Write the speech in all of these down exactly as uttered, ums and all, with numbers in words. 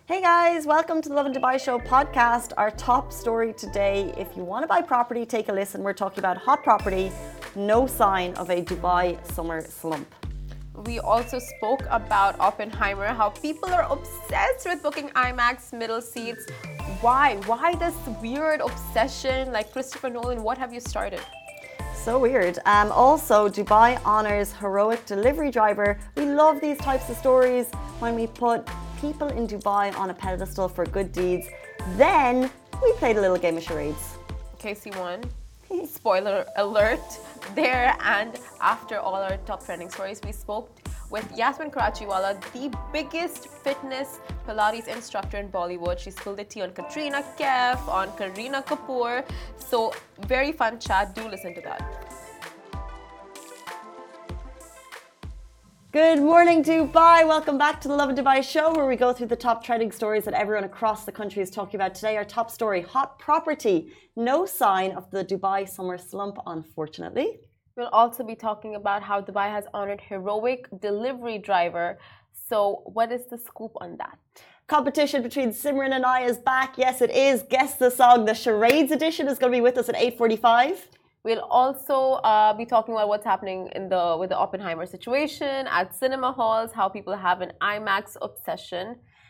Hey guys, welcome to the Love in Dubai Show podcast. Our top story today, if you want to buy property, take a listen. We're talking about hot property, no sign of a Dubai summer slump. We also spoke about Oppenheimer, how people are obsessed with booking IMAX middle seats. Why? Why this weird obsession? Like Christopher Nolan, what have you started? So weird. Um, also, Dubai honors heroic delivery driver. We love these types of stories when we put people in Dubai on a pedestal for good deeds. Then we played a little game of charades. Casey won. Spoiler alert there. And after all our top trending stories, we spoke with Yasmin Karachiwala, the biggest fitness Pilates instructor in Bollywood. She spilled the tea on Katrina Kaif, on Kareena Kapoor. So very fun chat. Do listen to that. Good morning, Dubai. Welcome back to the Love in Dubai show, where we go through the top trending stories that everyone across the country is talking about today. Our top story, hot property. No sign of the Dubai summer slump, unfortunately. We'll also be talking about how Dubai has honored heroic delivery driver. So what is the scoop on that? Competition between Simran and I is back. Yes, it is. Guess the song. The Charades edition is going to be with us at eight forty-five. We'll also uh, be talking about what's happening in the with the Oppenheimer situation at cinema halls, how people have an IMAX obsession.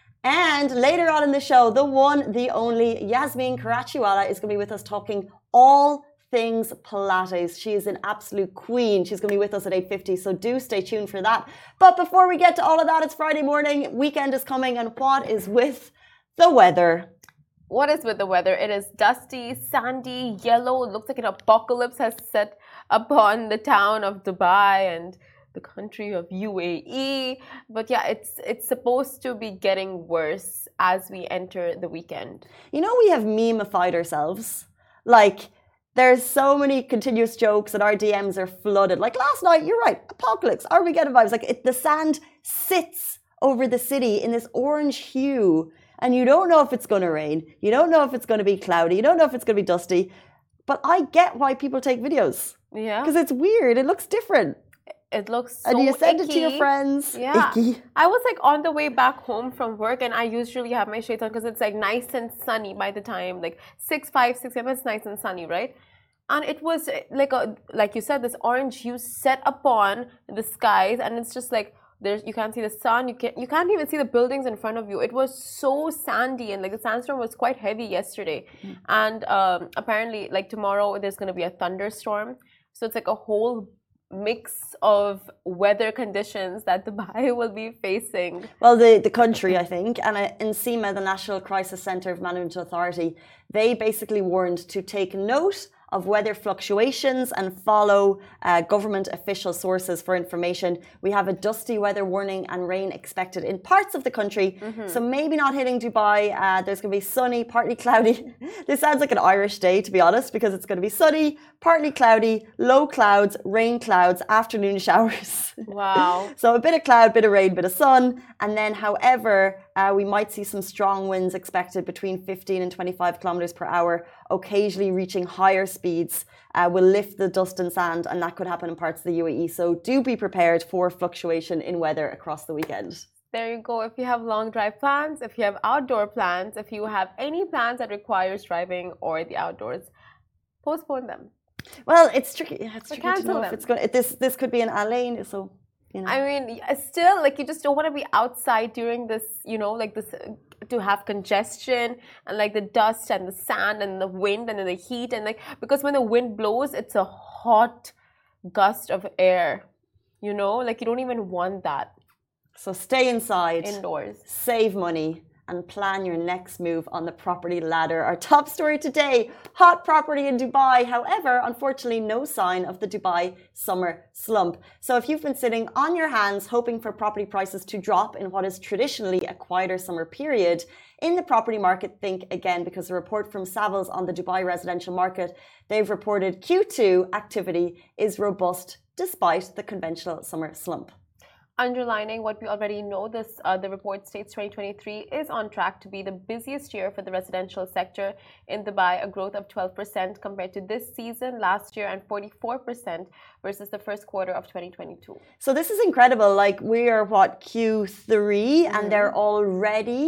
And later on in the show, the one, the only Yasmin Karachiwala is going to be with us talking all things Pilates. She is an absolute queen. She's going to be with us at eight fifty, so do stay tuned for that. But before we get to all of that, it's Friday morning, weekend is coming, and what is with the weather? What is with the weather? It is dusty, sandy, yellow. It looks like an apocalypse has set upon the town of Dubai and the country of U A E. But yeah, it's it's supposed to be getting worse as we enter the weekend. You know, we have meme-ified ourselves. Like, there's so many continuous jokes and our D Ms are flooded. Like last night, you're right, apocalypse, Armageddon vibes. Like it, the sand sits over the city in this orange hue. And you don't know if it's going to rain. You don't know if it's going to be cloudy. You don't know if it's going to be dusty. But I get why people take videos. Yeah. Because it's weird. It looks different. It looks so And you send icky. it to your friends. Yeah. Icky. I was like on the way back home from work, and I usually have my shades on because it's like nice and sunny by the time, like six, five, six a.m. It's nice and sunny, right? And it was like a, like you said, this orange hue set upon the skies, and it's just like, There's, you can't see the sun. You can't. You can't even see the buildings in front of you. It was so sandy, and like the sandstorm was quite heavy yesterday. Mm. And um, apparently, like tomorrow, there's going to be a thunderstorm. So it's like a whole mix of weather conditions that Dubai will be facing. Well, the the country, I think, and uh, NCEMA, the National Crisis Centre of Management Authority, they basically warned to take note of weather fluctuations and follow uh, government official sources for information. We have a dusty weather warning and rain expected in parts of the country. Mm-hmm. So maybe not hitting Dubai. Uh, there's going to be sunny, partly cloudy. This sounds like an Irish day, to be honest, because it's going to be sunny, partly cloudy, low clouds, rain clouds, afternoon showers. Wow. So a bit of cloud, bit of rain, bit of sun. And then, however, uh, we might see some strong winds expected between fifteen and twenty-five kilometers per hour, occasionally reaching higher speeds. Uh, will lift the dust and sand, and that could happen in parts of the U A E. So do be prepared for fluctuation in weather across the weekend. There you go. If you have long drive plans, if you have outdoor plans, if you have any plans that requires driving or the outdoors, postpone them. Well, it's tricky. It's or tricky to know them. if it's going. This this could be an A lane, so. You know. I mean, still, like you just don't want to be outside during this, you know, like this, uh, to have congestion and like the dust and the sand and the wind and then the heat and like, because when the wind blows, it's a hot gust of air, you know, like you don't even want that. So stay inside. Indoors. Save money. And plan your next move on the property ladder. Our top story today, hot property in Dubai. However, unfortunately, no sign of the Dubai summer slump. So if you've been sitting on your hands hoping for property prices to drop in what is traditionally a quieter summer period, in the property market, think again, because a report from Savills on the Dubai residential market, they've reported Q two activity is robust despite the conventional summer slump. Underlining what we already know, this uh, the report states twenty twenty-three is on track to be the busiest year for the residential sector in Dubai, a growth of twelve percent compared to this season last year and forty-four percent versus the first quarter of twenty twenty-two. So this is incredible. Like we are what, Q three, mm-hmm. and they're already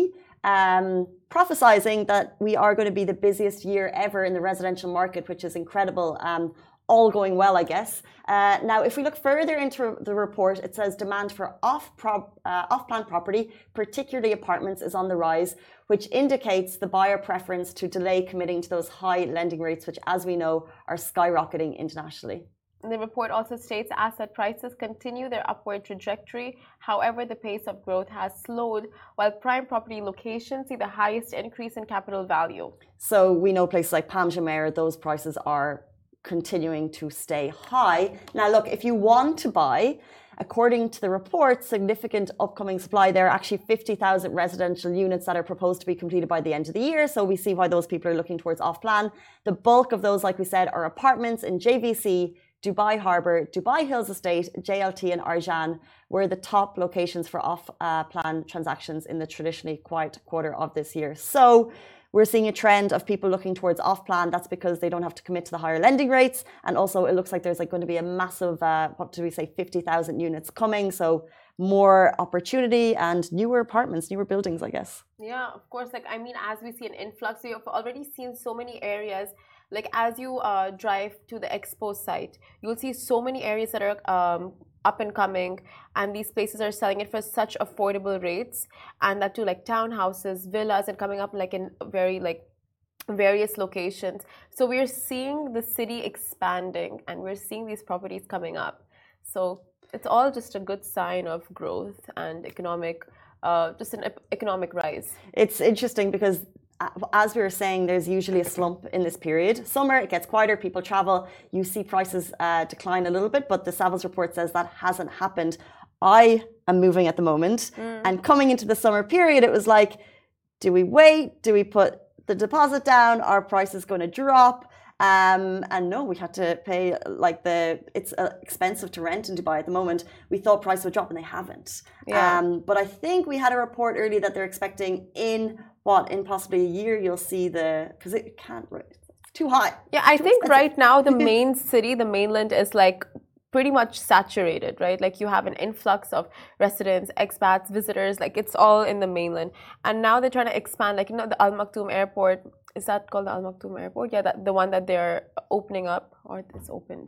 um, prophesizing that we are going to be the busiest year ever in the residential market, which is incredible. Um, all going well, I guess. Uh, now, if we look further into the report, it says demand for off prop, uh, off-plan property, particularly apartments, is on the rise, which indicates the buyer preference to delay committing to those high lending rates, which, as we know, are skyrocketing internationally. The report also states asset prices continue their upward trajectory. However, the pace of growth has slowed, while prime property locations see the highest increase in capital value. So we know places like Palm Jumeirah, those prices are continuing to stay high. Now, look, if you want to buy, according to the report, significant upcoming supply, there are actually fifty thousand residential units that are proposed to be completed by the end of the year. So we see why those people are looking towards off-plan. The bulk of those, like we said, are apartments in J V C, Dubai Harbour, Dubai Hills Estate, J L T and Arjan were the top locations for off-plan transactions in the traditionally quiet quarter of this year. So we're seeing a trend of people looking towards off-plan. That's because they don't have to commit to the higher lending rates. And also it looks like there's like going to be a massive, uh, what do we say, fifty thousand units coming. So more opportunity and newer apartments, newer buildings, I guess. Yeah, of course. Like, I mean, as we see an influx, we have already seen so many areas. Like, as you uh, drive to the expo site, you'll see so many areas that are um, up and coming, and these places are selling it for such affordable rates, and that too, like townhouses, villas, and coming up like in very like various locations. So we're seeing the city expanding, and we're seeing these properties coming up. So it's all just a good sign of growth and economic, uh, just an economic rise. It's interesting because, as we were saying, there's usually a slump in this period. Summer, it gets quieter, people travel, you see prices uh, decline a little bit, but the Savills report says that hasn't happened. I am moving at the moment, mm. and coming into the summer period, it was like, do we wait? Do we put the deposit down? Are prices going to drop? Um, and no, we had to pay like the, it's uh, expensive to rent in Dubai at the moment. We thought prices would drop and they haven't. Yeah. Um, but I think we had a report earlier that they're expecting in what, in possibly a year, you'll see the, because it can't, it's too high. Yeah, I think expensive. Right now the main city, the mainland is like pretty much saturated, right? Like you have an influx of residents, expats, visitors, like it's all in the mainland. And now they're trying to expand, like, you know, the Al Maktoum Airport, is that called the Al Maktoum Airport? Yeah, that, the one that they're opening up, or it's opened.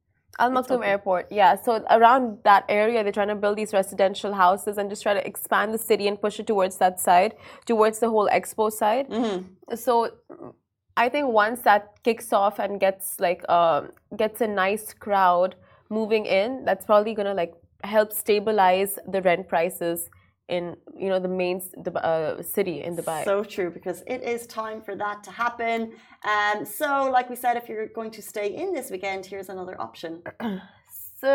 Al Maktoum Airport, yeah. So around that area, they're trying to build these residential houses and just try to expand the city and push it towards that side, towards the whole expo side. Mm-hmm. So I think once that kicks off and gets like uh, gets a nice crowd moving in, that's probably gonna like help stabilize the rent prices in, you know, the main uh, city in Dubai. So true, because it is time for that to happen. Um, so, like we said, if you're going to stay in this weekend, here's another option. So,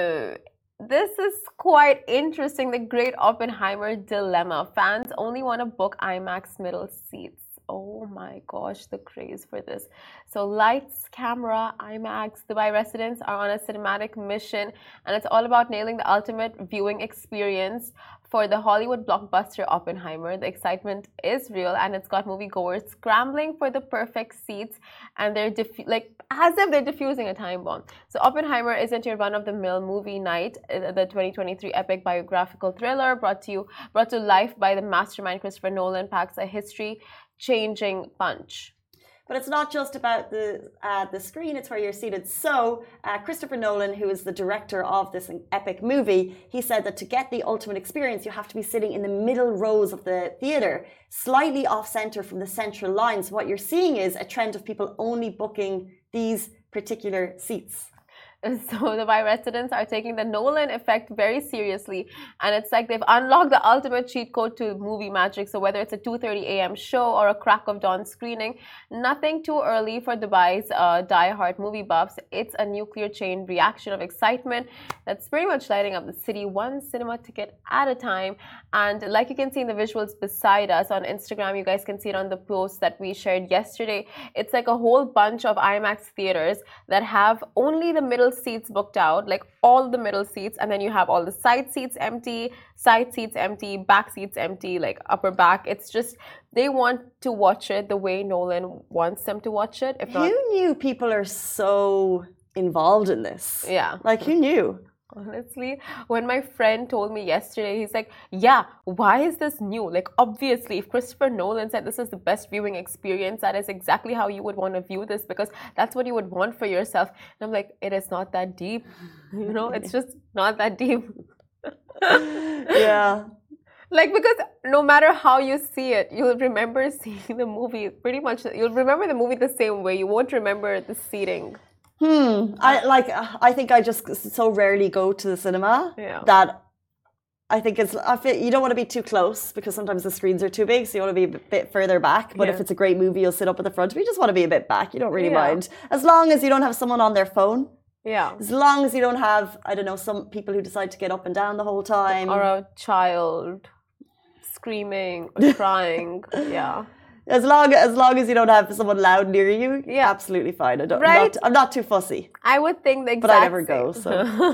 this is quite interesting. The Great Oppenheimer Dilemma. Fans only want to book IMAX middle seats. Oh my gosh, the craze for this. So lights, camera, IMAX, Dubai residents are on a cinematic mission, and it's all about nailing the ultimate viewing experience for the Hollywood blockbuster Oppenheimer. The excitement is real, and it's got moviegoers scrambling for the perfect seats, and they're like as if they're defusing a time bomb. So Oppenheimer isn't your run-of-the-mill movie night. The twenty twenty-three epic biographical thriller brought to you brought to life by the mastermind Christopher Nolan packs a history-changing punch. But it's not just about the uh, the screen, it's where you're seated. So uh, Christopher Nolan, who is the director of this epic movie, he said that to get the ultimate experience, you have to be sitting in the middle rows of the theatre, slightly off-center from the central line. So what you're seeing is a trend of people only booking these particular seats. So Dubai residents are taking the Nolan effect very seriously, and it's like they've unlocked the ultimate cheat code to movie magic. So whether it's a two thirty a m show or a crack of dawn screening, nothing too early for Dubai's uh, die-hard movie buffs. It's a nuclear chain reaction of excitement that's pretty much lighting up the city, one cinema ticket at a time. And like you can see in the visuals beside us on Instagram, you guys can see it on the post that we shared yesterday. It's like a whole bunch of IMAX theaters that have only the middle seats booked out, like all the middle seats, and then you have all the side seats empty, side seats empty, back seats empty, like upper back. It's just they want to watch it the way Nolan wants them to watch it. If not, who knew people are so involved in this? Yeah, like who knew? Honestly, when my friend told me yesterday, he's like, yeah, why is this new? Like, obviously, if Christopher Nolan said this is the best viewing experience, that is exactly how you would want to view this because that's what you would want for yourself. And I'm like, it is not that deep. You know, it's just not that deep. Yeah. Like, because no matter how you see it, you'll remember seeing the movie pretty much, you'll remember the movie the same way. You won't remember the seating. Hmm. I like. I think I just so rarely go to the cinema Yeah. that I think it's. I feel, you don't want to be too close because sometimes the screens are too big, so you want to be a bit further back. But Yeah. if it's a great movie, you'll sit up at the front. But you just want to be a bit back. You don't really Yeah. mind as long as you don't have someone on their phone. Yeah. As long as you don't have, I don't know, some people who decide to get up and down the whole time. Or a child screaming, or crying. Yeah. As long as long as you don't have someone loud near you, Yeah. absolutely fine. I don't. Right? I'm, not, I'm not too fussy, I would think the exact but I never same. go. So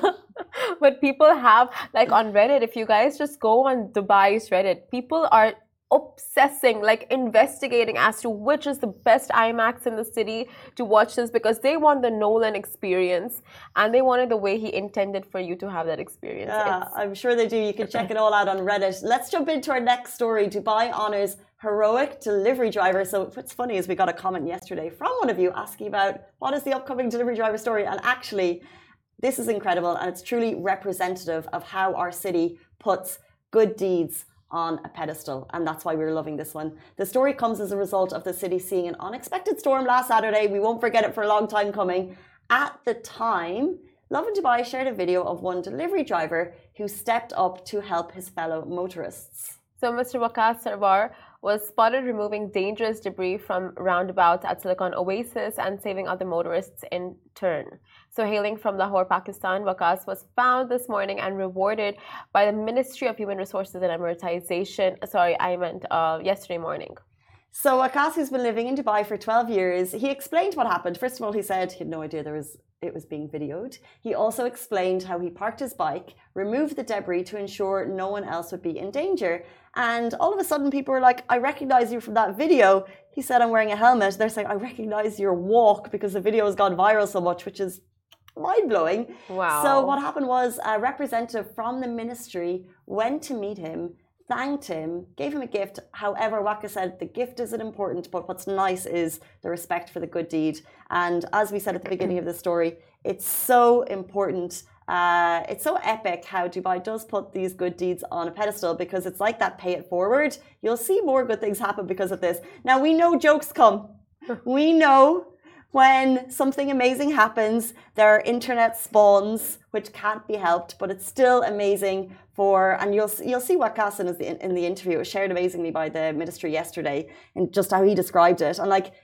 But people have, like on Reddit, if you guys just go on Dubai's Reddit, people are obsessing, like investigating as to which is the best IMAX in the city to watch this because they want the Nolan experience and they want it the way he intended for you to have that experience. yeah, It's- I'm sure they do. You can check it all out on Reddit. Let's jump into our next story. Dubai honors heroic delivery driver. So what's funny is we got a comment yesterday from one of you asking about what is the upcoming delivery driver story, and actually, this is incredible and it's truly representative of how our city puts good deeds on a pedestal, and that's why we're loving this one. The story comes as a result of the city seeing an unexpected storm last Saturday. We won't forget it for a long time coming. At the time, Lovin Dubai shared a video of one delivery driver who stepped up to help his fellow motorists. So Mister Waqas Sarwar was spotted removing dangerous debris from roundabouts at Silicon Oasis and saving other motorists in turn. So hailing from Lahore, Pakistan, Waqas was found this morning and rewarded by the Ministry of Human Resources and Amortization. Sorry, I meant uh, yesterday morning. So Waqas, who's been living in Dubai for twelve years, he explained what happened. First of all, he said he had no idea there was it was being videoed. He also explained how he parked his bike, removed the debris to ensure no one else would be in danger. And all of a sudden, people were like, I recognize you from that video. He said, I'm wearing a helmet. They're saying, I recognize your walk because the video has gone viral so much, which is mind-blowing. Wow. So what happened was a representative from the ministry went to meet him, thanked him, gave him a gift. However, Waqas said the gift isn't important, but what's nice is the respect for the good deed. And as we said at the beginning of the story, it's so important. Uh, it's so epic how Dubai does put these good deeds on a pedestal because it's like that pay it forward. You'll see more good things happen because of this. Now, we know jokes come. We know when something amazing happens, there are internet spawns which can't be helped, but it's still amazing for, and you'll you'll see Waqas in the in the interview. It was shared amazingly by the ministry yesterday, and just how he described it. And like,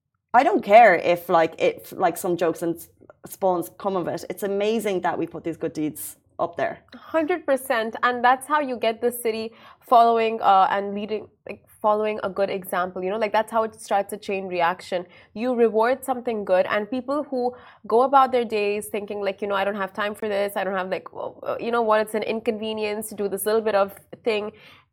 I don't care if like if like some jokes and spawns come of it. It's amazing that we put these good deeds up there. one hundred percent. And that's how you get the city following uh, and leading, like following a good example. You know, like that's how it starts a chain reaction. You reward something good, and people who go about their days thinking like, you know, I don't have time for this. I don't have like, you know what, it's an inconvenience to do this little bit of thing.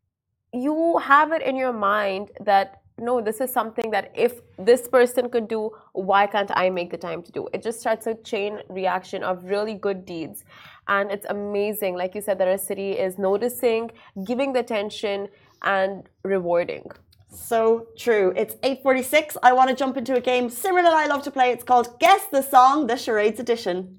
You have it in your mind that, no, this is something that if this person could do, why can't I make the time to do? It just starts a chain reaction of really good deeds. And it's amazing, like you said, that our city is noticing, giving the attention and rewarding. So true. It's eight forty-six. I want to jump into a game Simran and I love to play. It's called Guess the Song, the Charades edition.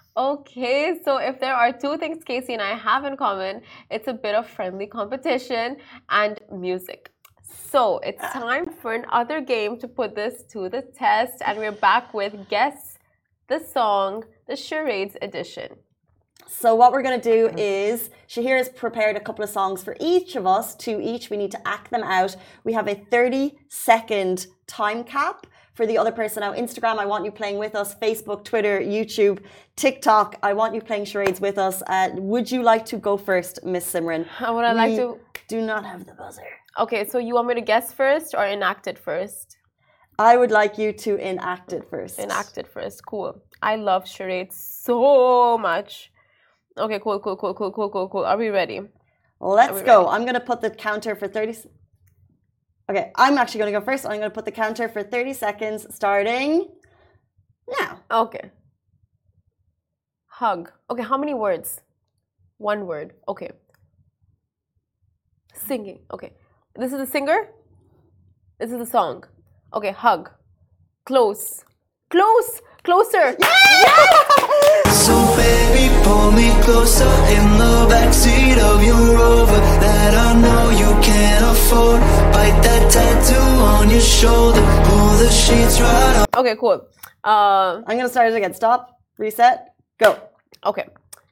Okay, so if there are two things Casey and I have in common, it's a bit of friendly competition and music. So it's time for another game to put this to the test, and we're back with Guess the Song, the Charades edition. So what we're going to do is, Shahir has prepared a couple of songs for each of us, two each. We need to act them out. We have a thirty second time cap for the other person. Now, Instagram, I want you playing with us. Facebook, Twitter, YouTube, TikTok, I want you playing charades with us. Uh, would you like to go first, Miss Simran? Would I like to? Do not have the buzzer. Okay, so you want me to guess first or enact it first? I would like you to enact it first. Enact it first. Cool. I love charades so much. Okay, cool, cool, cool, cool, cool, cool, cool. Are we ready? Let's go. Ready? I'm going to put the counter for thirty. Okay, I'm actually going to go first. I'm going to put the counter for thirty seconds starting now. Okay. Hug. Okay, how many words? One word. Okay. Singing. Okay. This is the singer? This is the song. Okay, hug. Close. Close! Closer! Yes! So baby, pull me closer in the backseat of your Rover that I know you can't afford. Bite that tattoo on your shoulder. Pull the sheets right up. Okay, cool. Uh, I'm gonna start it again. Stop. Reset. Go. okay.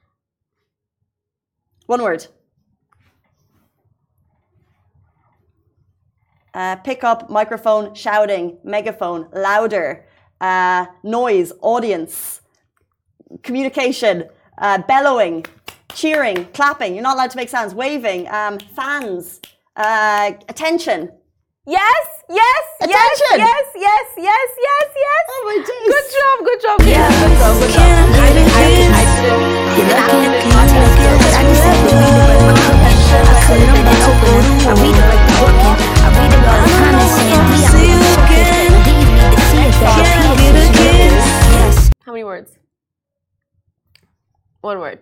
One word. Uh, pick up, microphone, shouting, megaphone, louder, uh, noise, audience, communication, uh, bellowing, cheering, clapping. You're not allowed to make sounds. Waving, um, fans, uh, attention. Yes, yes, Attention! yes, yes, yes, yes, yes. Oh my days. Good job, good job. Yeah, Yes, good job, good job. can I I get didn't, I a didn't, I kiss? didn't, You're I looking didn't cute, podcast looking skills. good. I I just just said to read the red carpet. I could have been open. I read it like the booking. I read about the comments saying we are see you again. Then you need to see it that Can I get a kiss? Yes. How many words? One word.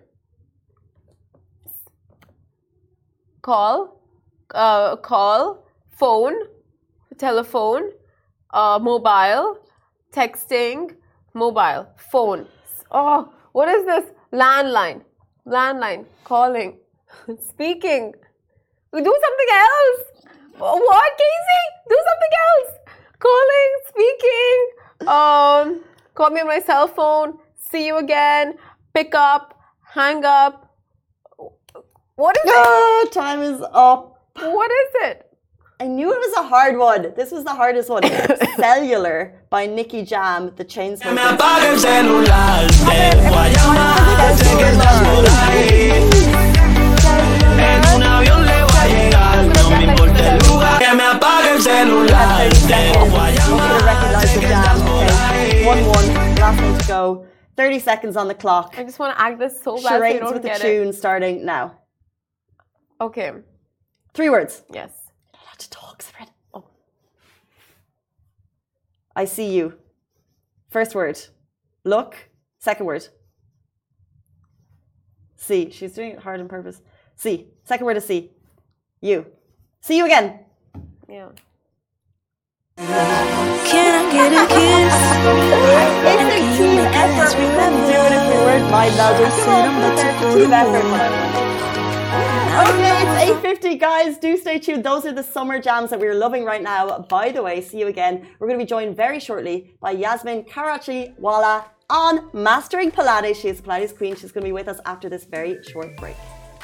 Call, uh, call, phone, telephone, uh, mobile, texting, mobile, phone. Oh, what is this? Landline, landline, calling, speaking. Do something else. What, Casey? Do something else. Calling, speaking. Um, call me on my cell phone. See you again. Pick up. Hang up. What is it? Oh, time is up. What is it? I knew it was a hard one. This was the hardest one. Cellular by Nicky Jam, the Chainsmokers. Me apaga el celular, te voy a llamar, sé que estás por ahí. En un avión le voy a llegar, no me importa el lugar. Que me apague el celular, te voy a I'm going to recognize the jam. Okay. one one. Last one to go. thirty seconds on the clock. I just want to act this so bad so you Charades don't with the get tune starting now. it. Okay. Three words. Yes. Not allowed to talk, Spread. Oh. I see you. First word. Look. Second word. See. She's doing it hard on purpose. See. Second word is see. You. See you again. Yeah. Can I get a kiss? It's a team effort. We couldn't do it if we weren't mind melding. Come on, it's a team effort. Okay, it's eight fifty, guys. Do stay tuned. Those are the summer jams that we're loving right now. By the way, see you again. We're going to be joined very shortly by Yasmin Karachiwala on Mastering Pilates. She is the Pilates Queen. She's going to be with us after this very short break.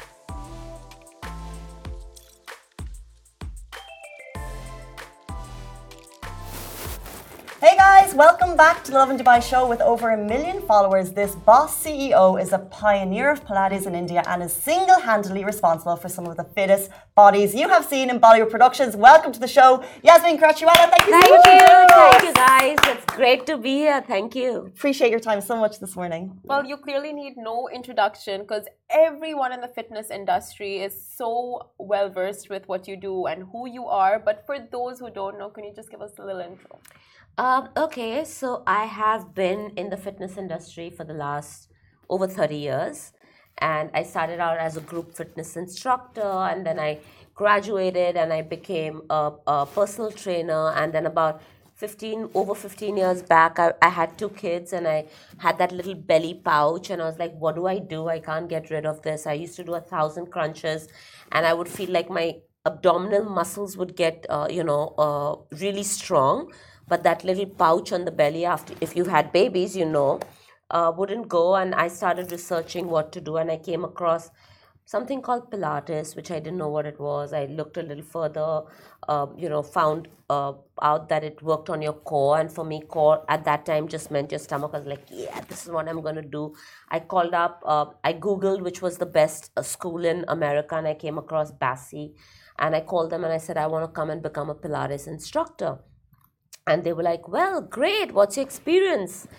Hey guys, welcome back to the Lovin Dubai show. With over a million followers, this boss C E O is a pioneer of Pilates in India and is single-handedly responsible for some of the fittest bodies you have seen in Bollywood productions. Welcome to the show, Yasmin Karachiwala. Thank you so Thank much. you, for joining thank us. you guys. It's great to be here. Thank you. Appreciate your time so much this morning. Well, you clearly need no introduction because everyone in the fitness industry is so well versed with what you do and who you are. But for those who don't know, can you just give us a little intro? Um, okay, so I have been in the fitness industry for the last over thirty years. And I started out as a group fitness instructor, and then I graduated and I became a, a personal trainer. And then about fifteen, over fifteen years back, I, I had two kids and I had that little belly pouch. And I was like, what do I do? I can't get rid of this. I used to do a thousand crunches and I would feel like my abdominal muscles would get, uh, you know, uh, really strong. But that little pouch on the belly, after if you had babies, you know, uh, wouldn't go. And I started researching what to do. And I came across something called Pilates, which I didn't know what it was. I looked a little further, uh, you know, found uh, out that it worked on your core. And for me, core at that time just meant your stomach. I was like, yeah, this is what I'm going to do. I called up, uh, I Googled which was the best uh, school in America. And I came across Bassi. And I called them and I said, I want to come and become a Pilates instructor. And they were like, well, great. What's your experience?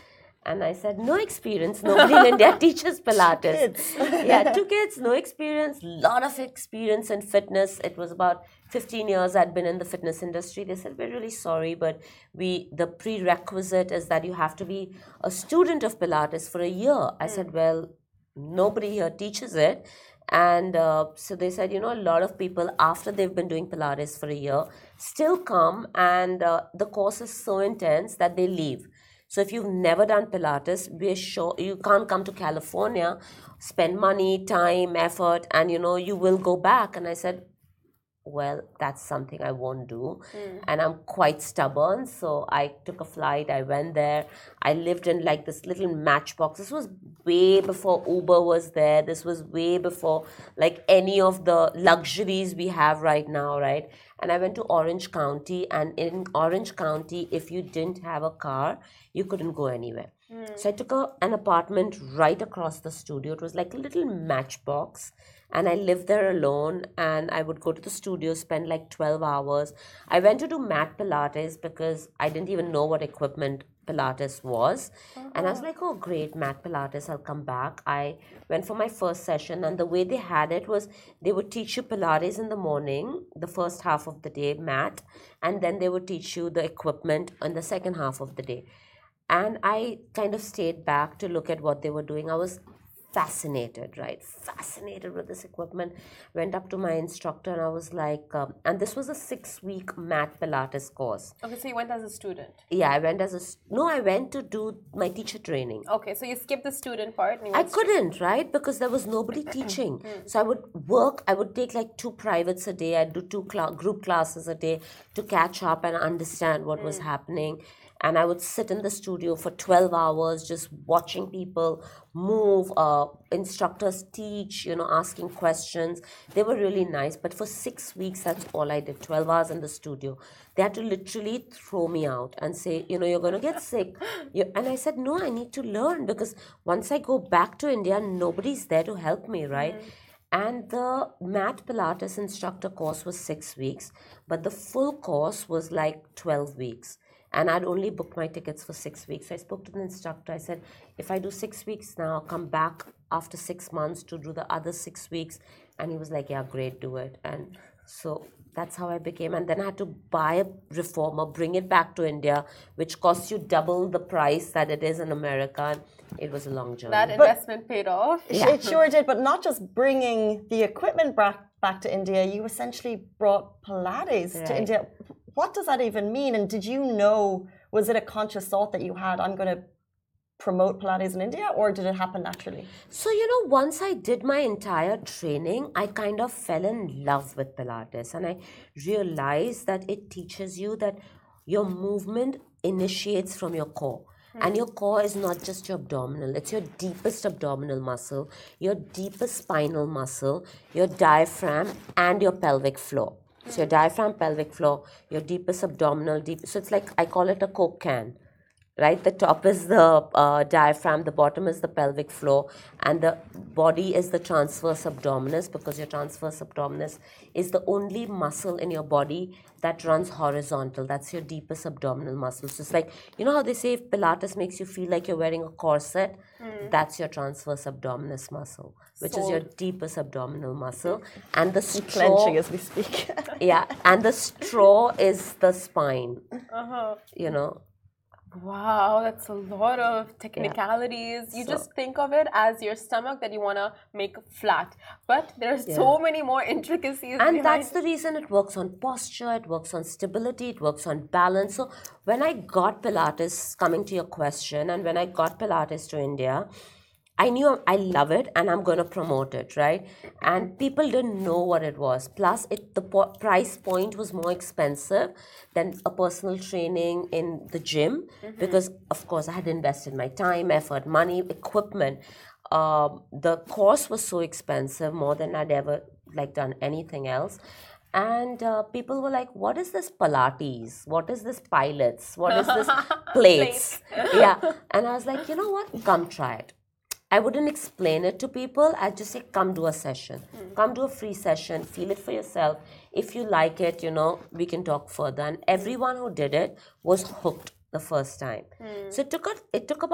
And I said, no experience. Nobody in India teaches Pilates. Kids. Yeah, two kids, no experience. Lot of experience in fitness. It was about fifteen years I'd been in the fitness industry. They said, we're really sorry, but we the prerequisite is that you have to be a student of Pilates for a year. I said, well, nobody here teaches it. And uh, so they said, you know, a lot of people after they've been doing Pilates for a year still come, and uh, the course is so intense that they leave. So if you've never done Pilates, we're sure you can't come to California, spend money, time, effort, and you know, you will go back. And I said, well, that's something I won't do. Mm. And I'm quite stubborn. So I took a flight, I went there. I lived in like this little matchbox. This was way before Uber was there. This was way before like any of the luxuries we have right now, right? And I went to Orange County, and in Orange County, if you didn't have a car, you couldn't go anywhere. Mm. So I took a, an apartment right across the studio. It was like a little matchbox. And I lived there alone, and I would go to the studio, spend like twelve hours. I went to do mat Pilates because I didn't even know what equipment Pilates was. Uh-huh. And I was like, oh, great, mat Pilates, I'll come back. I went for my first session, and the way they had it was they would teach you Pilates in the morning, the first half of the day, mat, and then they would teach you the equipment in the second half of the day. And I kind of stayed back to look at what they were doing. I was fascinated, right? Fascinated with this equipment. Went up to my instructor and I was like, um, and this was a six-week mat Pilates course. Okay, so you went as a student. Yeah, I went as a, no, I went to do my teacher training. Okay, so you skipped the student part. And you I couldn't, right? Because there was nobody teaching. So I would work, I would take like two privates a day. I'd do two cl- group classes a day to catch up and understand what mm. was happening. And I would sit in the studio for twelve hours just watching people move, uh, instructors teach, you know, asking questions. They were really nice. But for six weeks, that's all I did, twelve hours in the studio. They had to literally throw me out and say, you know, you're going to get sick. You, and I said, no, I need to learn because once I go back to India, nobody's there to help me, right? Mm. And the mat Pilates instructor course was six weeks, but the full course was like twelve weeks. And I'd only booked my tickets for six weeks. So I spoke to the instructor. I said, if I do six weeks now, I'll come back after six months to do the other six weeks. And he was like, yeah, great, do it. And so that's how I became. And then I had to buy a reformer, bring it back to India, which costs you double the price that it is in America. And it was a long journey. That investment but paid off. Yeah. It sure did. But not just bringing the equipment back, back to India, you essentially brought Pilates right. to India. What does that even mean? And did you know, was it a conscious thought that you had, I'm going to promote Pilates in India, or did it happen naturally? So, you know, once I did my entire training, I kind of fell in love with Pilates. And I realized that it teaches you that your movement initiates from your core. And your core is not just your abdominal, it's your deepest abdominal muscle, your deepest spinal muscle, your diaphragm, and your pelvic floor. So your diaphragm, pelvic floor, your deepest abdominal, deep. So it's like, I call it a Coke can, right? The top is the uh, diaphragm, the bottom is the pelvic floor, and the body is the transverse abdominis, because your transverse abdominis is the only muscle in your body that runs horizontal. That's your deepest abdominal muscle. So it's like, you know how they say if Pilates makes you feel like you're wearing a corset? Mm. That's your transverse abdominis muscle, which Sold. is your deepest abdominal muscle. And the straw... Clenching as we speak. Yeah, and the straw is the spine, uh-huh. you know. Wow, that's a lot of technicalities. Yeah. You so, just think of it as your stomach that you want to make flat. But there are yeah. so many more intricacies. And that's the reason it works on posture, it works on stability, it works on balance. So when I got Pilates, coming to your question, and when I got Pilates to India, I knew I love it and I'm going to promote it, right? And people didn't know what it was. Plus, it the po- price point was more expensive than a personal training in the gym mm-hmm. because, of course, I had invested my time, effort, money, equipment. Um, the course was so expensive, more than I'd ever like done anything else. And uh, people were like, what is this Pilates? What is this pilates? What is this plates? Yeah. And I was like, you know what? Come try it. I wouldn't explain it to people. I'd just say, come do a session. Mm. Come do a free session. Feel it for yourself. If you like it, you know, we can talk further. And everyone who did it was hooked the first time. Mm. So it took, a, it took about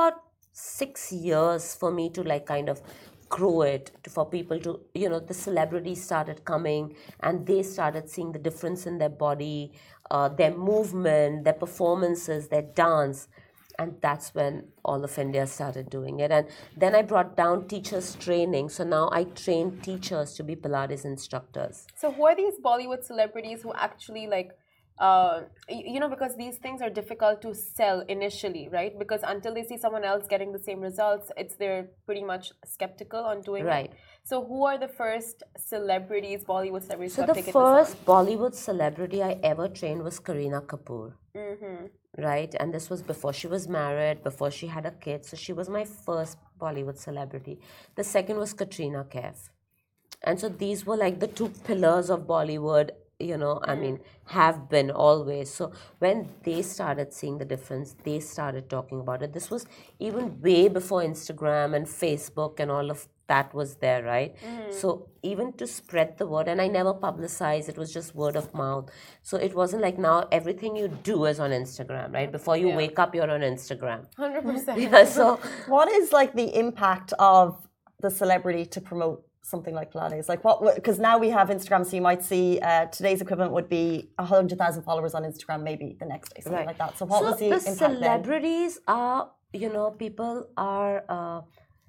six years for me to like kind of grow it, to, for people to, you know, the celebrities started coming and they started seeing the difference in their body, uh, their movement, their performances, their dance. And that's when all of India started doing it. And then I brought down teachers training. So now I train teachers to be Pilates instructors. So who are these Bollywood celebrities who actually like, uh, you know, because these things are difficult to sell initially, right? Because until they see someone else getting the same results, it's they're pretty much skeptical on doing Right. it. So who are the first celebrities, Bollywood celebrities So who the have taken first this Bollywood celebrity I ever trained was Kareena Kapoor. on? Mm-hmm. Right, and this was before she was married, before she had a kid. So she was my first Bollywood celebrity. The second was Katrina Kaif. And so these were like the two pillars of Bollywood, you know, I mean, have been always. So when they started seeing the difference, they started talking about it. This was even way before Instagram and Facebook and all of that was there, right? So even to spread the word, and I never publicized, it was just word of mouth. So it wasn't like now everything you do is on Instagram, right? Before you Yeah. wake up, you're on Instagram. one hundred percent. Yeah, so What is like the impact of the celebrity to promote something like Pilates? Like what? Because now we have Instagram, so you might see uh, today's equivalent would be a hundred thousand followers on Instagram, maybe the next day, something Right. like that. So what so was the, the impact then? celebrities are, you know, people are uh,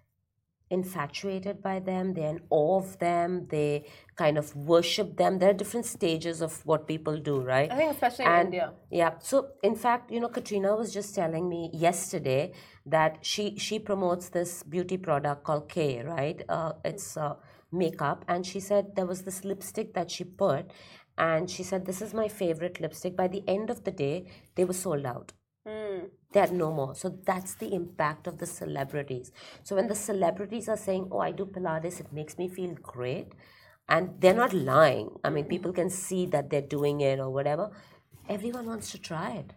infatuated by them, they're in awe of them, they kind of worship them. There are different stages of what people do, right? I think especially in And- India. Yeah. So in fact, you know, Katrina was just telling me yesterday that she she promotes this beauty product called K, right? Uh, it's uh, makeup, and she said there was this lipstick that she put, and she said this is my favorite lipstick. By the end of the day, they were sold out. They had no more. So that's the impact of the celebrities. So when the celebrities are saying, "Oh, I do Pilates, it makes me feel great," and they're not lying. I mean, people can see that they're doing it or whatever. Everyone wants to try it.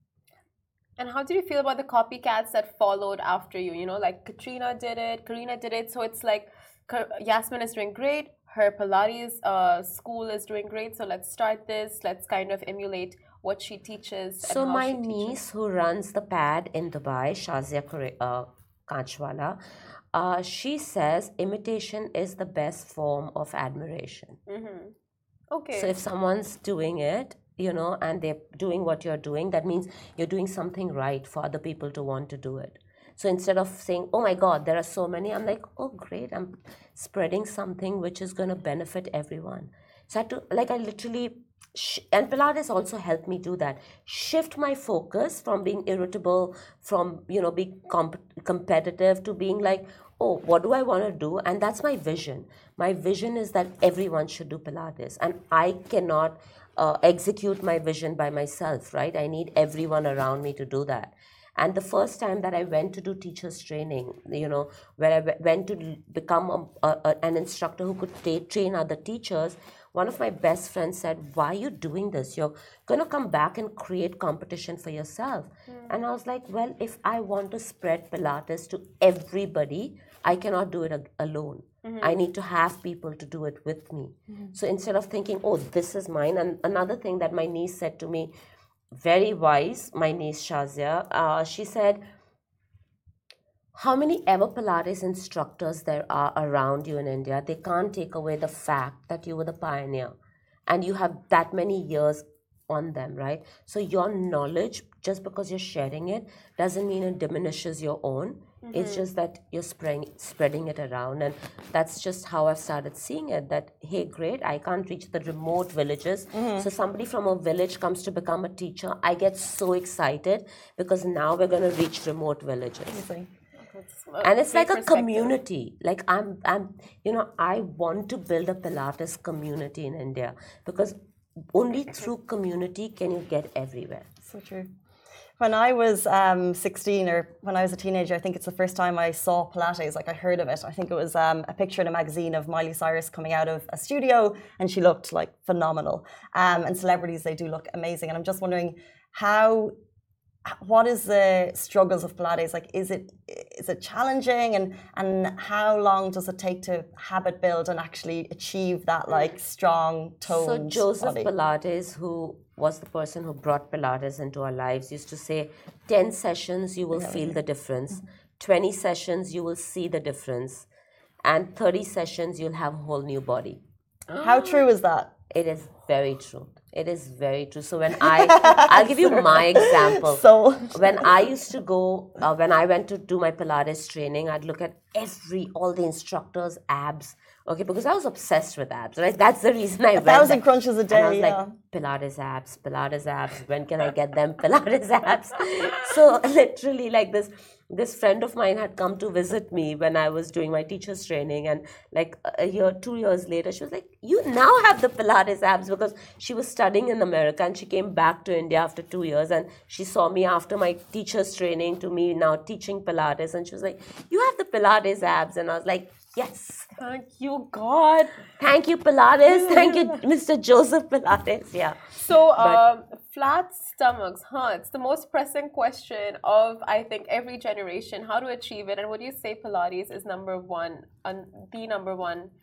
And how did you feel about the copycats that followed after you? You know, like Katrina did it, Karina did it. So it's like Ka- Yasmin is doing great. Her Pilates uh, school is doing great. So let's start this. Let's kind of emulate what she teaches. And So how my she teaches. niece who runs the pad in Dubai, Shazia Kure- uh, Kanchwala, uh, she says imitation is the best form of admiration. Okay. So if someone's doing it, you know, and they're doing what you're doing, that means you're doing something right for other people to want to do it. So instead of saying, "Oh my God, there are so many," I'm like, "Oh great, I'm spreading something which is going to benefit everyone." So I had to, like, I literally, sh- and Pilates also helped me do that. Shift my focus from being irritable, from, you know, being comp- competitive to being like, oh, what do I want to do? And that's my vision. My vision is that everyone should do Pilates. And I cannot uh, execute my vision by myself, right? I need everyone around me to do that. And the first time that I went to do teachers training, you know, where I w- went to l- become a, a, a- an instructor who could ta- train other teachers, one of my best friends said, "Why are you doing this? You're going to come back and create competition for yourself." And I was like, well, if I want to spread Pilates to everybody, I cannot do it a- alone. I need to have people to do it with me. So instead of thinking, oh, this is mine. And another thing that my niece said to me, very wise, my niece Shazia, uh, she said, how many ever Pilates instructors there are around you in India, they can't take away the fact that you were the pioneer and you have that many years on them, right? So your knowledge, just because you're sharing it, doesn't mean it diminishes your own. It's just that you're spreading, spreading it around. And that's just how I've started seeing it, that, hey, great, I can't reach the remote villages. So somebody from a village comes to become a teacher. I get so excited because now we're going to reach remote villages. Amazing. And it's Great like a perspective. community. Like I'm, I'm, you know, I want to build a Pilates community in India because only through community can you get everywhere. So true. When I was um, sixteen, or when I was a teenager, I think it's the first time I saw Pilates, like I heard of it. I think it was um, a picture in a magazine of Miley Cyrus coming out of a studio, and she looked like phenomenal. Um, and celebrities, they do look amazing. And I'm just wondering how, what is the struggles of Pilates? Like, is it is it challenging, and and how long does it take to habit build and actually achieve that like strong So toned Joseph body? Pilates, who was the person who brought Pilates into our lives, used to say, ten sessions, you will feel the difference. twenty sessions, you will see the difference. And thirty sessions, you'll have a whole new body. How true is that? It is very true. It is very true. So when I, I'll give you my example. So When I used to go, uh, when I went to do my Pilates training, I'd look at every, all the instructors' abs. Okay, because I was obsessed with abs, right? That's the reason I went. thousand there. crunches a And I was day, like, yeah. Pilates abs, Pilates abs. When can I get them? Pilates abs. So literally, like this, this friend of mine had come to visit me when I was doing my teacher's training, and like a year, two years later, she was like, "You now have the Pilates abs," because she was studying in America and she came back to India after two years, and she saw me after my teacher's training to me now teaching Pilates, and she was like, "You have the Pilates abs," and I was like, "Yes." Thank you, God. Thank you, Pilates. Thank you, Mister Joseph Pilates. Yeah. So, But- um, flat stomachs, huh? It's the most pressing question of, I think, every generation. How to achieve it? And would you say Pilates is number one, um, the number one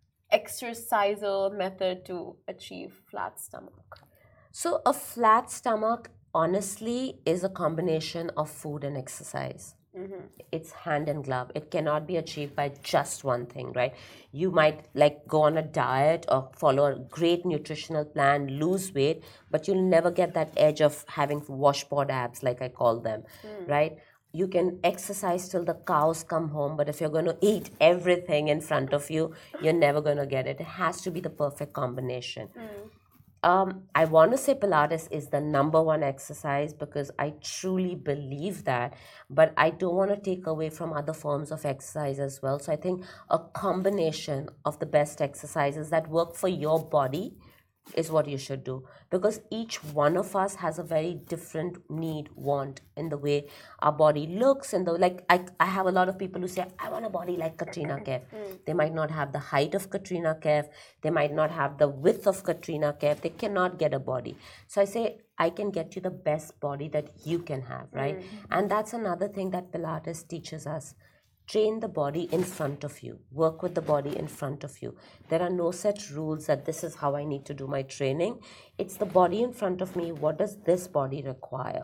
exercisal method to achieve flat stomach? So, a flat stomach, honestly, is a combination of food and exercise. It's hand in glove. It cannot be achieved by just one thing, right? You might like go on a diet or follow a great nutritional plan, lose weight, but you'll never get that edge of having washboard abs, like I call them, right? You can exercise till the cows come home, but if you're going to eat everything in front of you, you're never going to get it. It has to be the perfect combination. Um, I want to say Pilates is the number one exercise because I truly believe that, but I don't want to take away from other forms of exercise as well. So I think a combination of the best exercises that work for your body is what you should do, because each one of us has a very different need, want in the way our body looks. And the like I, I have a lot of people who say, I want a body like Katrina Kaif. They might not have the height of Katrina Kaif, they might not have the width of Katrina Kaif, they cannot get a body. So I say, I can get you the best body that you can have, right? And that's another thing that Pilates teaches us. Train the body in front of you. Work with the body in front of you. There are no set rules that this is how I need to do my training. It's the body in front of me. What does this body require?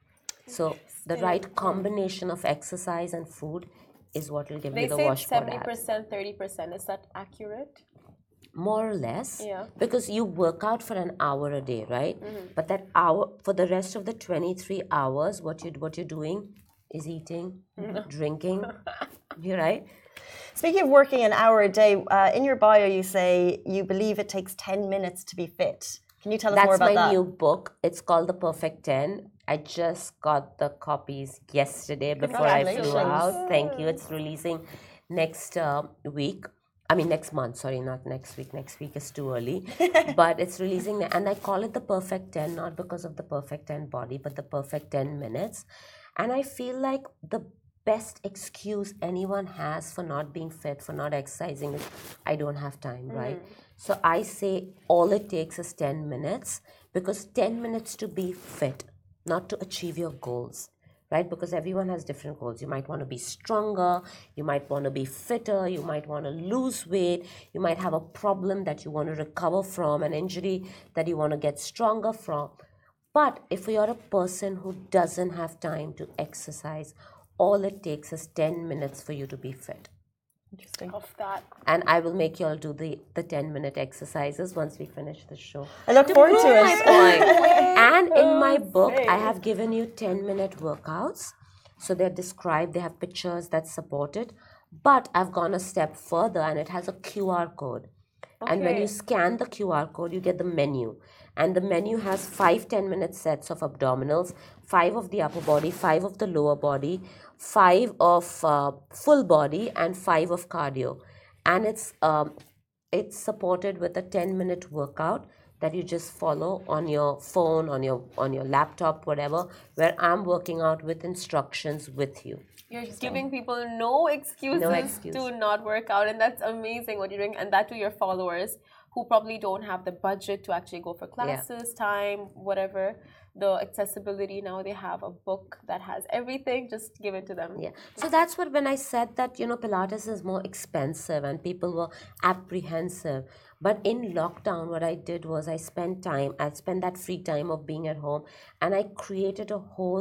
So the right combination of exercise and food is what will give They you the say washboard seventy abs. percent, thirty percent. Is that accurate? More or less, Yeah. because you work out for an hour a day, right? But that hour, for the rest of the twenty-three hours, what you what you're doing is eating, drinking. You're right. Speaking of working an hour a day, uh, in your bio you say you believe it takes ten minutes to be fit. Can you tell us That's more about my that? new book. It's called The Perfect ten. I just got the copies yesterday before I flew Congratulations. out. Thank you. It's releasing next uh, week. I mean, next month. Sorry, not next week. Next week is too early. But it's releasing. And I call it The Perfect ten, not because of the perfect ten body, but the perfect ten minutes. And I feel like the best excuse anyone has for not being fit, for not exercising is, I don't have time, right? So I say all it takes is ten minutes, because ten minutes to be fit, not to achieve your goals, right? Because everyone has different goals. You might want to be stronger, you might want to be fitter, you might want to lose weight, you might have a problem that you want to recover from, an injury that you want to get stronger from. But if you're a person who doesn't have time to exercise, all it takes is ten minutes for you to be fit. Interesting. Of that. And I will make you all do the, the ten minute exercises once we finish the show. I look forward to Prove my it. point. And in my book, I have given you ten minute workouts. So they're described, they have pictures that support it. But I've gone a step further, and it has a Q R code. And when Okay. you scan the Q R code, you get the menu. And the menu has five ten minute sets of abdominals, five of the upper body, five of the lower body, five of uh, full body, and five of cardio. And it's um, it's supported with a ten minute workout that you just follow on your phone, on your on your laptop, whatever, where I'm working out with instructions with you. You're giving people no excuses No excuse. to not work out, and that's amazing what you're doing. And that to your followers who probably don't have the budget to actually go for classes, time, whatever. The accessibility now, they have a book that has everything. Just give it to them. Yeah. So that's what, when I said that, you know, Pilates is more expensive and people were apprehensive. But in lockdown, what I did was I spent time, I spent that free time of being at home, and I created a whole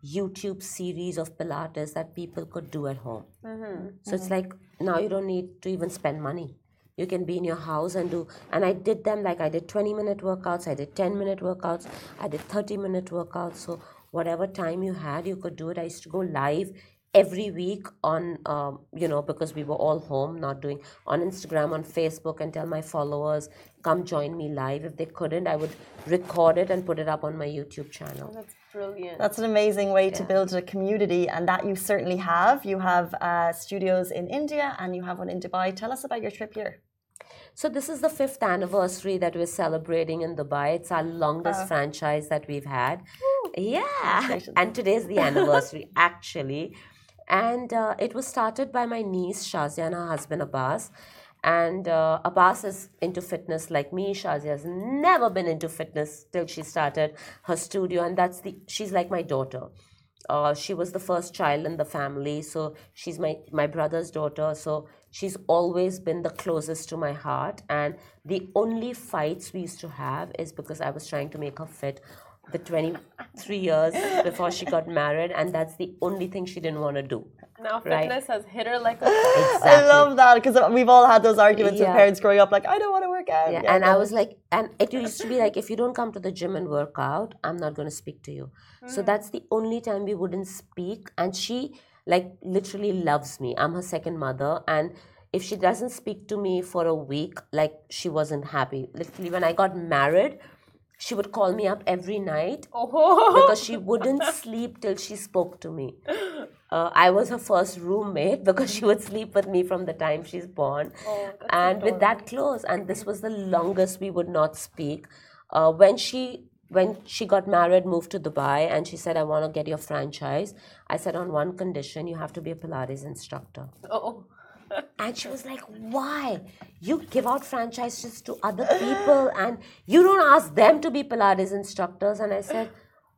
YouTube series of Pilates that people could do at home. So it's like now you don't need to even spend money. You can be in your house and do, and I did them like I did twenty minute workouts, I did ten minute workouts, I did thirty minute workouts. So whatever time you had, you could do it. I used to go live every week on, um, you know, because we were all home, not doing, on Instagram, on Facebook, and tell my followers, come join me live. If they couldn't, I would record it and put it up on my YouTube channel. That's brilliant. That's an amazing way to Yeah. build a community, and that you certainly have. You have uh, studios in India and you have one in Dubai. Tell us about your trip here. So this is the fifth anniversary that we're celebrating in Dubai. It's our longest Oh. franchise that we've had. Yeah, Congratulations. and today's the anniversary actually. And uh, it was started by my niece Shazia and her husband Abbas. And uh, Abbas is into fitness like me. Shazia has never been into fitness till she started her studio, and that's the she's like my daughter. Uh, she was the first child in the family, so she's my, my brother's daughter. So she's always been the closest to my heart. And the only fights we used to have is because I was trying to make her fit the twenty-three years before she got married, and that's the only thing she didn't want to do. Now Right. fitness has hit her like a Exactly. I love that because we've all had those arguments with Yeah. parents growing up, like, I don't want to work out. Yeah, Yeah, and no. I was like, and it used to be like, if you don't come to the gym and work out, I'm not going to speak to you. So that's the only time we wouldn't speak. And she, like, literally loves me. I'm her second mother. And if she doesn't speak to me for a week, like, she wasn't happy. Literally, when I got married, she would call me up every night oh. because she wouldn't sleep till she spoke to me. Uh, I was her first roommate because she would sleep with me from the time she's born. Oh, that's And with that close, and this was the longest we would not speak. Uh, when she when she got married, moved to Dubai, and she said, I want to get your franchise. I said, on one condition, you have to be a Pilates instructor. Oh. And she was like, why? You give out franchises to other people and you don't ask them to be Pilates instructors. And I said,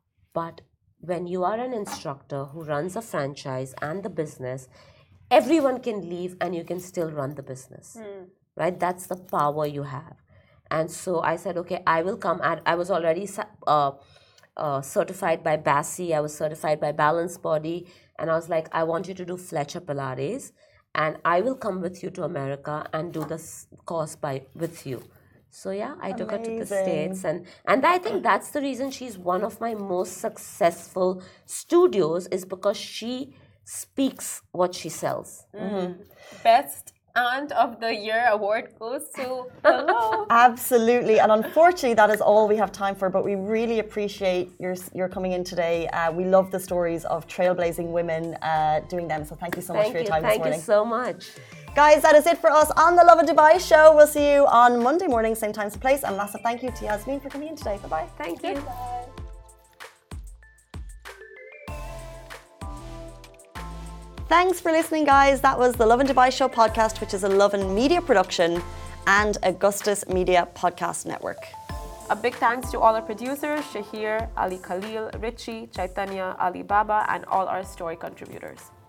but when you are an instructor who runs a franchise and the business, everyone can leave and you can still run the business, right? That's the power you have. And so I said, okay, I will come. At, I was already uh, uh, certified by B A S I. I was certified by Balance Body. And I was like, I want you to do Fletcher Pilates. And I will come with you to America and do this course by with you. So yeah, I took her to the Amazing. States, and and I think that's the reason she's one of my most successful studios, is because she speaks what she sells. Best Aunt of the Year award goes to hello. Absolutely, and unfortunately, that is all we have time for. But we really appreciate your your coming in today. Uh, we love the stories of trailblazing women uh, doing them. So thank you so much Thank for your you, time thank this you morning, so much. guys. That is it for us on the Love and Dubai show. We'll see you on Monday morning, same time, same place. And massive thank you to Yasmin for coming in today. Bye bye. Thank you. Thanks for listening, guys. That was the Love and Dubai Show podcast, which is a Love and Media production and Augustus Media Podcast Network. A big thanks to all our producers, Shahir, Ali Khalil, Richie, Chaitanya, Ali Baba, and all our story contributors.